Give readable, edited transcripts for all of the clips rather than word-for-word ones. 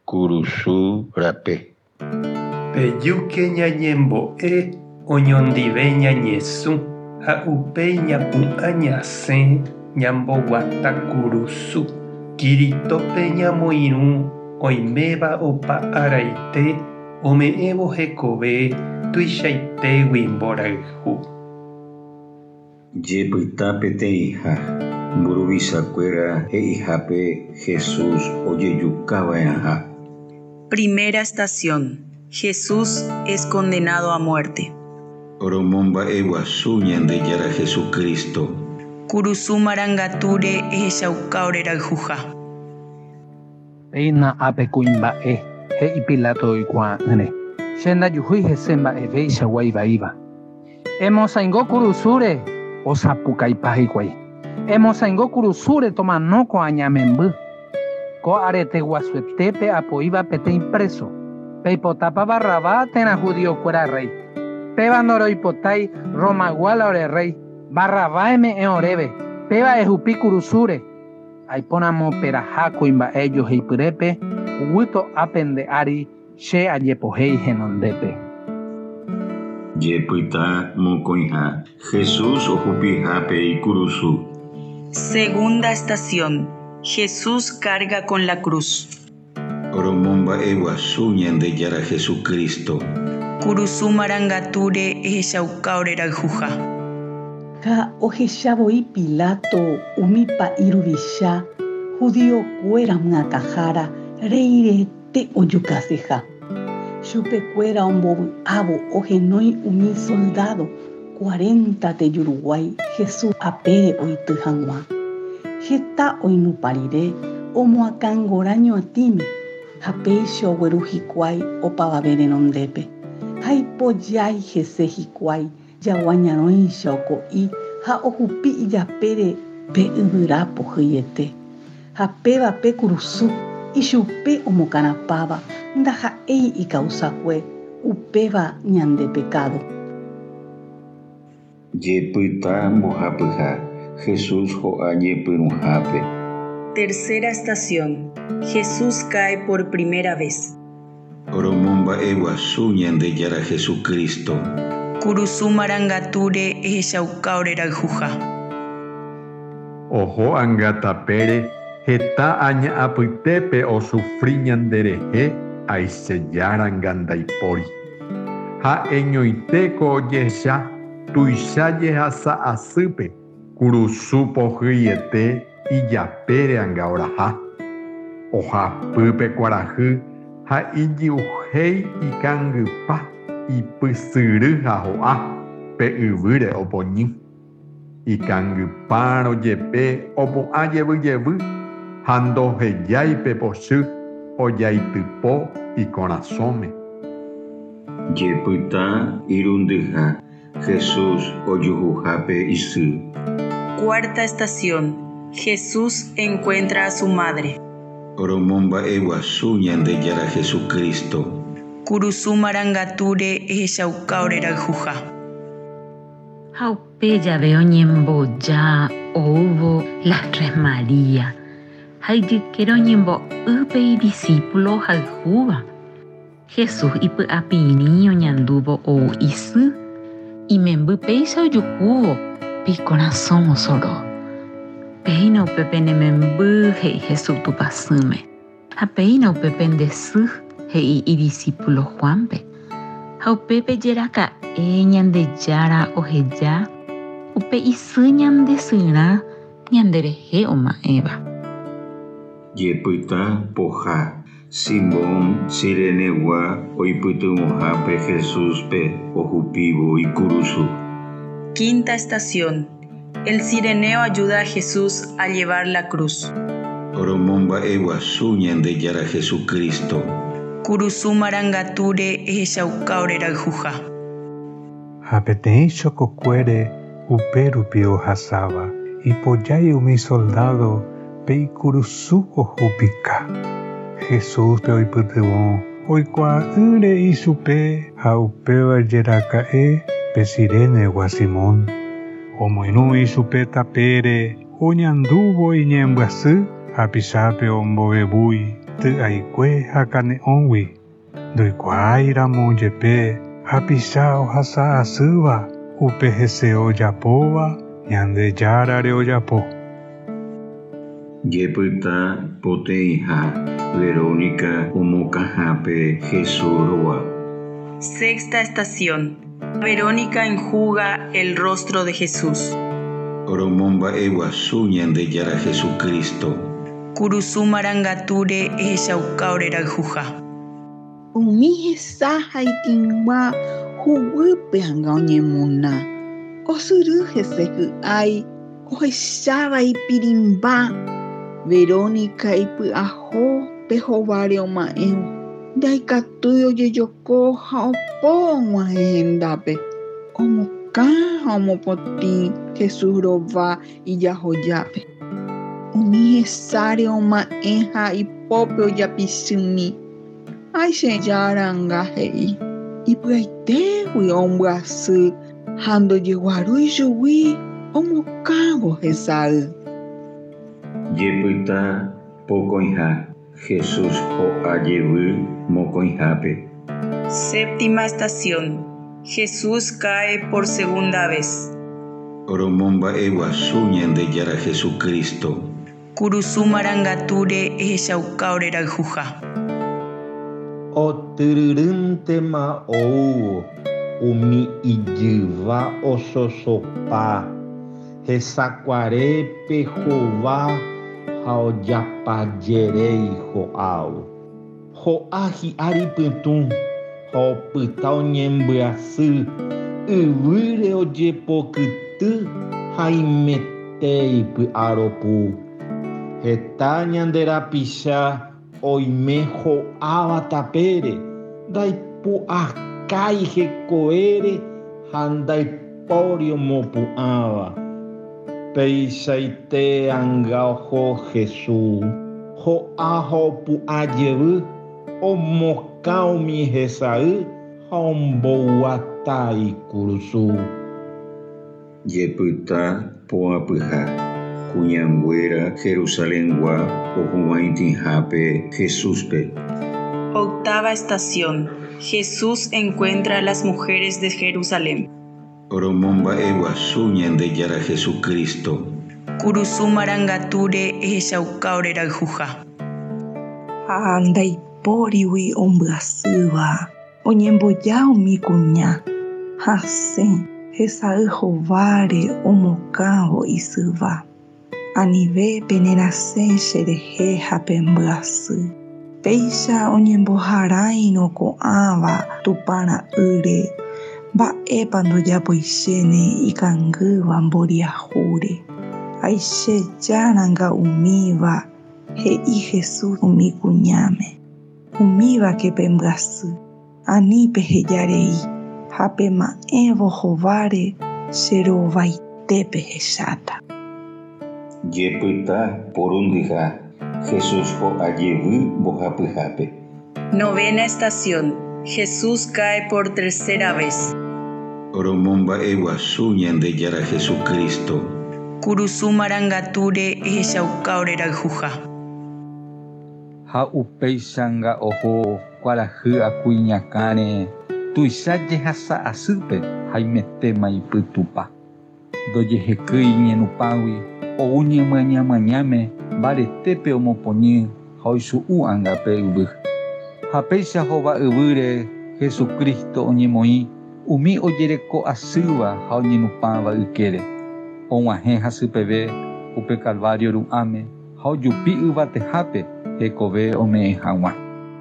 Kurusu rape. Pejuke ñañembo'e oñondive ñañesũ ha upéi ñapu'ã ñasẽ ñamboguata kurusu. Kirítope ñamoirũ oiméva opa araite ome'ẽvo hekove tuichaitégui mborayhu. Jepyta peteĩha mburuvichakuéra he'ihápe Jesús ojejukava'erãha. Primera estación. Jesús es condenado a muerte. Oromomba'eguasu Ñandejára Jesucristo. Kurusu marangatúre ehechaukáore rayhuha. Peina ápe kuimba'e he'i Pilato oikuaa'ỹre. Che ndajuhýi hese mba'evéicha guaivaíva. Emosãingo kurusúre osapukaipa hikuái. Emosãingo kurusúre tomanóko añamemby. Ko arete guasuetépe apoíva peteĩ preso. Peipotápa Barrabá térã judiokuéra rey. Péva noroipotái Romaguala ore rey. Barrabá eme'ẽ oréve. Péva ehupi kurusúre. Aiporãmo peraha kuimba'e joheipyrépe guyto ápente ári che ajepohéi henondépe. Jepyta mokõiha Jesús ohupihápe ikurusu. Segunda estación. Jesús carga con la cruz. Oromomba'eguasu Ñandejára Jesucristo. Kurusu marangatúre ehechaukáore rayhuha. Ha ohechavoi Pilato umípa iruvicha judiokuéra myakahára reirete ojukaseha. Chupekuéra ombovy'ávo ohenói umi soldado 40 tejuruguái Jesús apére oity hag̃ua. Heta oinupã rire omoakãngóra ñotĩme ha péicha ogueru hikuái opavave renondépe. Ha ipojái hese hikuái jagua ñarõicha oko'i ha ohupi ijapére pe yvyra pohýiete. Ha pévape kurusu ichupe omokarãpáva ndaha'éi ikausakue upéva ñande pecado. Jepyta mbohapyha Jesús ho'a ñepyrũhápe. Tercera estación. Jesús cae por primera vez. Oromomba'eguasu Ñandejára Jesucristo. Kurusu marangatúre ehechaukáore rayhuha. Oho angatapére heta aña'apytépe osufri ñanderehe aichejára ngandaipóri. Ha eñoitéko ojecha tuicha jehasa asýpe kurusu pohýiete ijapére anga oraha. Ohapýpe kuarahy ha ijuhéi ikangypa ipysyry ha ho'a pe yvýre opoñy. Ikangypárõ jepe opu'ã jevyjevy ha ndohejáipe pochy ojaitypo ikorasõme. Jepyta irundyha Jesús ojuhuhápe isy. Cuarta estación. Jesús encuentra a su madre. Oromomba'eguasu Ñandejára Jesucristo. Kurusu marangatúre ehechaukáore rayhuha. Ha upe jave oñemboja oúvo las Tres Marías. Ha ijykére oñembo'ýpe discípulo hayhúva. Jesús ipy'apirĩ oñandúvo ou isy. Imemby péicha ojuhúvo pe ikorasõ osoro. Péina upépe nememby he'i Jesús tupãsýme. Ha péina upépe ndesy he'i idiscípulo Juanpe. Ha upépe jeraka'e Ñandejára oheja upe isy ñandesyrã ñanderehe oma'ẽva. Jepyta poha Simón Cirenegua oipytyvõhápe Jesúspe ohupívo ikurusu. Quinta estación. El cireneo ayuda a Jesús a llevar la cruz. Oromomba'eguasu Ñandejára Jesucristo. Kurusu marangatúre ehechaukáore rayhuha. Ha peteĩ chokokuére upérupi ohasáva ipojái umi soldado pe ikurusu ohupika. Jesús pe oipytyvõ oikuaa'ỹre ichupe ha upéva jeraka'e pe Cirenegua Simón. Omoirũ ichupe tapére oñandúvo iñembyasy ha pichápe ombovevúi ty'aikue ha kane'õgui ndoikuaáramo jepe hapicha ohasa asýva upe hese ojapóva Ñandejára ojapo. Jepyta poteĩha Verónica omokãhápe Jesús rova. Sexta estación. Verónica enjuga el rostro de Jesús. Oromomba'eguasu Ñandejára Jesucristo. Kurusu marangature ehechaukáore rayhuha. Umi hesa haitingua huguýpe hanga oñemona. Osyry hesehy'ái ohecháva ipirimba. Verónica ipy'aho pe hováre oma'ẽvo. Ndaikatúi ojejoko ha opó og̃uahẽ hendápe. Omokã ha omopotĩ Jesús rova ijahojápe. Umi hesáre oma'ẽ ha ipópe ojapichymi. Aichejáranga he'i. Ipy'aitégui ombyasy ha ndojeguaru ichugui omokãvo hesay. Jepyta pokõiha Jesús ho'ajevy mokõihápe. Séptima estación. Jesús cae por segunda vez. Oromomba'eguasu Ñandejára Jesucristo. Kurusu marangature ehechaukáore rayhuha. Otyrýntema oúvo umi ijyva ososopa hesakuarépe hova ha ojapajerei ho'ávo. Ho'a hi'ári pytũ ha opyta oñembyasy yvýre ojepokyty ha imetéi py'aropu. Heta ñanderapicha oime ho'áva tapére ndaipu'akái hekoére ha ndaipóri omopu'ãva. Peichaite anga oho Jesús ho'a ha opu'ãjevy omokã umi hesay ha ombouatai kurusu. Jepyta poapyha kuñanguéra Jerusaléngua ohuvaitĩhápe Jesúspe. Octava estación. Jesús encuentra a las mujeres de Jerusalén. Oromomba'eguasu Ñandejára Jesucristo. Kurusu marangature ehechaukáore rayhuha. Ha ndaipórigui ombyasýva oñemboja umi kuña hasẽ hesay hováre omokãvo isyva. Anivépe nerasẽ cherehe ha pembyasy. Péicha oñemboharãirõ ko'ãva tupara'ýre. Mba'épa ndojapoichéne ikangýva mboriahúre. Aichéjaranga umíva he'i Jesús umi kuñáme. Umívake pembyasy. Anípe hejarei. Ha pema'ẽvo hováre cherovaitépe hecháta. Jepyta porundyha Jesús ho'ajevy mbohapyhápe. Novena estación. Jesús cae por tercera vez. Oromomba'eguasu Ñandejára Jesucristo. Kurusu marangature ehechaukáore rayhuha. Ha upéichanga oho kuarahy akuiñakãre tuicháje hasa asýpe ha imetéma ipytupa. Ndojehekýi iñenupágui ou ñemoañamañáme mbaretépe omopoñy ha oichu'u angape yvy. Ha péicha hova yvýre Jesucristo oñemoĩ umi ojereko asýva ha oñenupãva ykére. Og̃uahẽ hasypeve upe Calvario ru'ãme ha ojupi yvatehápe hekove ome'ẽ hag̃ua.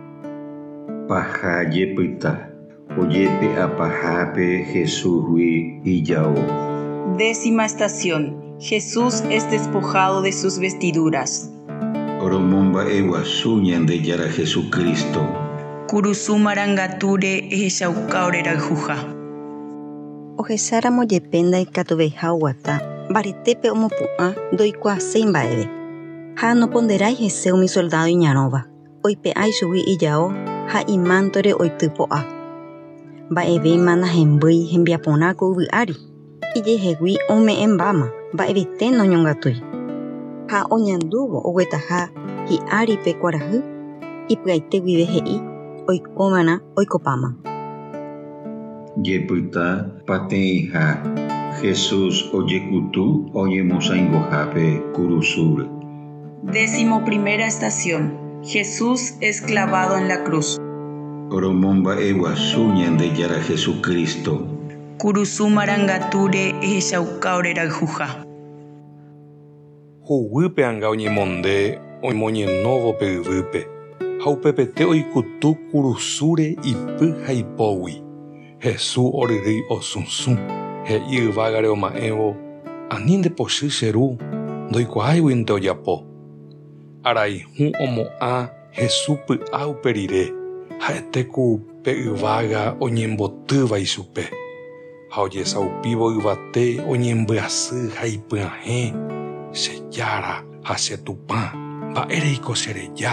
Paha jepyta ojépe apahápe Jesúsgui ijao. Décima estación. Jesús es despojado de sus vestiduras. Oromomba'eguasu Ñandejára Jesucristo. Kurusu marangature ehechaukáore rayhuha. Ohechára mojepe ndaikatuveha oguata mbaretépe omopu'ã ndoikuaaséi mba'eve. Ha noponderái hese umi soldado iñarõva. Oipe'ái chugui ijao ha imántore oitypo'a. Mba'evéma nahembýi hembiaporãko yvy'ári. Ijehegui ome'ẽmbáma mba'evete noñongatúi. Ha oñandúvo oguetaha hi'áripe kuarahy Ipy'aite guive he'i oikómana oikopáma. Jepyta pateĩha Jesús ojekutu oñemosãingohápe kurusúre. 11ª estación. Jesús es clavado en la cruz. Oromomba'eguasu Ñandejára Jesucristo. Kurusu marangatúre ehechaukáore rayhuha. Huguýpe anga oñemonde omoñenóvo pe yvýpe, ha upepete oikutu kurusúre ipy ha ipógui. Jesús oryrýi osũsũ, he'i yvágare oma'ẽvo, ani ndepochy che ru, ndoikuaáiguinte ojapo. Arayhu omo'ã Jesús py'a upe rire, ha'ete ku pe yvága oñembotýva ichupe. Ha ojesaupívo yvate oñembyasy ha ipyahẽ, che jára ha che tupã, mba'éreiko chereja.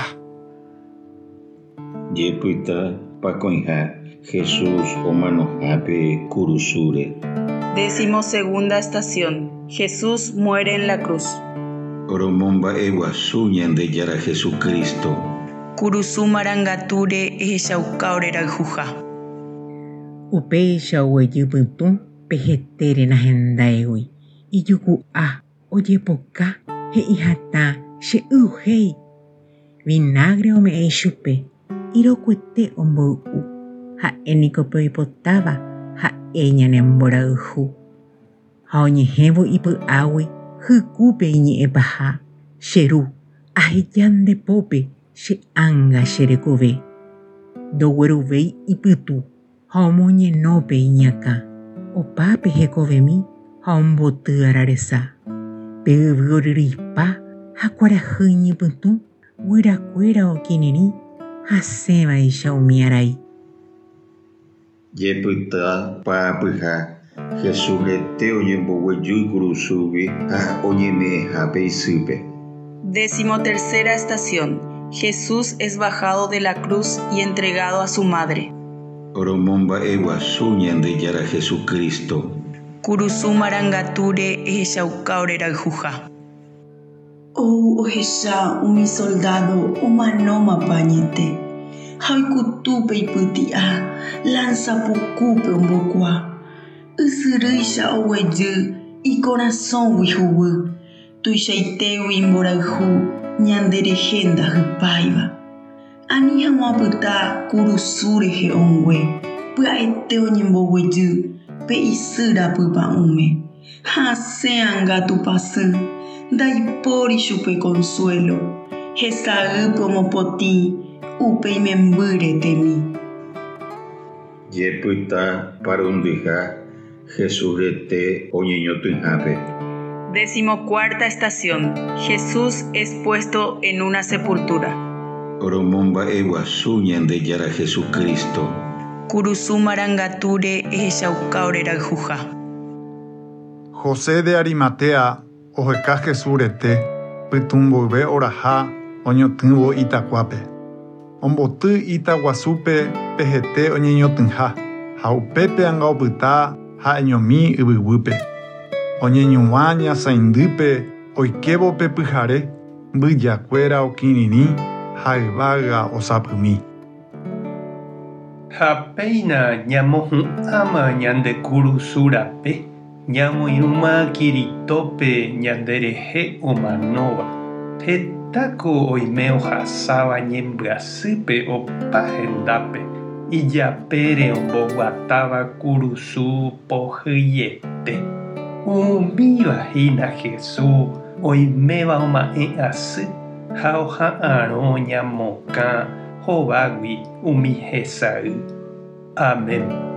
Jepyta pakõiha Jesús omanohápe kurusúre. 12ª estación. Jesús muere en la cruz. Oromomba'eguasu Ñandejára Jesucristo. Kurusu marangatúre ehechaukáore rayhuha. Upéicha oguejypytũ pehetére nahendáigui ijuku'a ojepoka he'ihatã che yhéi. Vinagre ome'ẽ chupe, irokuete omboy'u. Ha'éniko pe oipotáva ha'e ñanemborayhu. Ha oñehẽvo ipy'águi hykúpe iñe'ẽpaha. Che ru aheja ndepópe che anga cherekove. Ndogueruvéi ipytu ha omoñenópe iñakã. Opápe hekovemi ha omboty araresa. Pe yvy oryrýipa ha kuarahy iñipytũ guyrakuéra okirirĩ hasẽvaicha umi arai. Jepyta pa'apyha Jesús rete oñemboguejýi kurusúgui ha oñeme'ẽhápe isýpe. 13ª estación. Jesús es bajado de la cruz y entregado a su madre. Oromomba'eguasu Ñandejára Jesucristo. Kurusu marangatúre ehechaukáore rayhuha. Ou ohecha umi soldado omanóma pañete. Ha oikutúpe ipyti'a lanzapukúpe ombokua. Ysyrýicha oguejy ikorasõgui huguy. Tuichaitégui imborayhu ñanderehe ndahypáiva. Ani hag̃uapyta kurusúre he'õngue pya'ete oñemboguejy pe isýra pypa'ũme. Ha asẽ anga tupasy ndaipóri chupe consuelo. Hesa'ýpe omopotĩ upe imembýre temi. Jepyta parundyha Jesús rete oñeñotỹhápe. 14ª estación. Jesús es puesto en una sepultura. Oromomba'eguasu Ñandejára Jesucristo. Kurusu marangatúre ehechaukáore rayhuha. José de Arimatea oheka Jesús rete pytũ mboyve oraha oñotỹvo itakuápe. Omboty itaguasúpe pehete oñeñotỹha ha upépe anga opyta ha eñomi yvyguýpe. Oñeñuã ñasãindýpe oikevo pe pyhare mbyjakuéra okirirĩ ha yvága osapymi. Ha péina ñamohu'ãma ñande kurusúrape, ñamoirũma Kiritópe ñanderehe omanóva. Hetáko oime ohasáva ñembyasýpe opa hendápe. Ijapére omboguatáva kurusu pohyete. Umívahína Jesús oiméva oma'ẽ asy ha oha'ãrõ ñamokã hovágui umi hesay. Amén.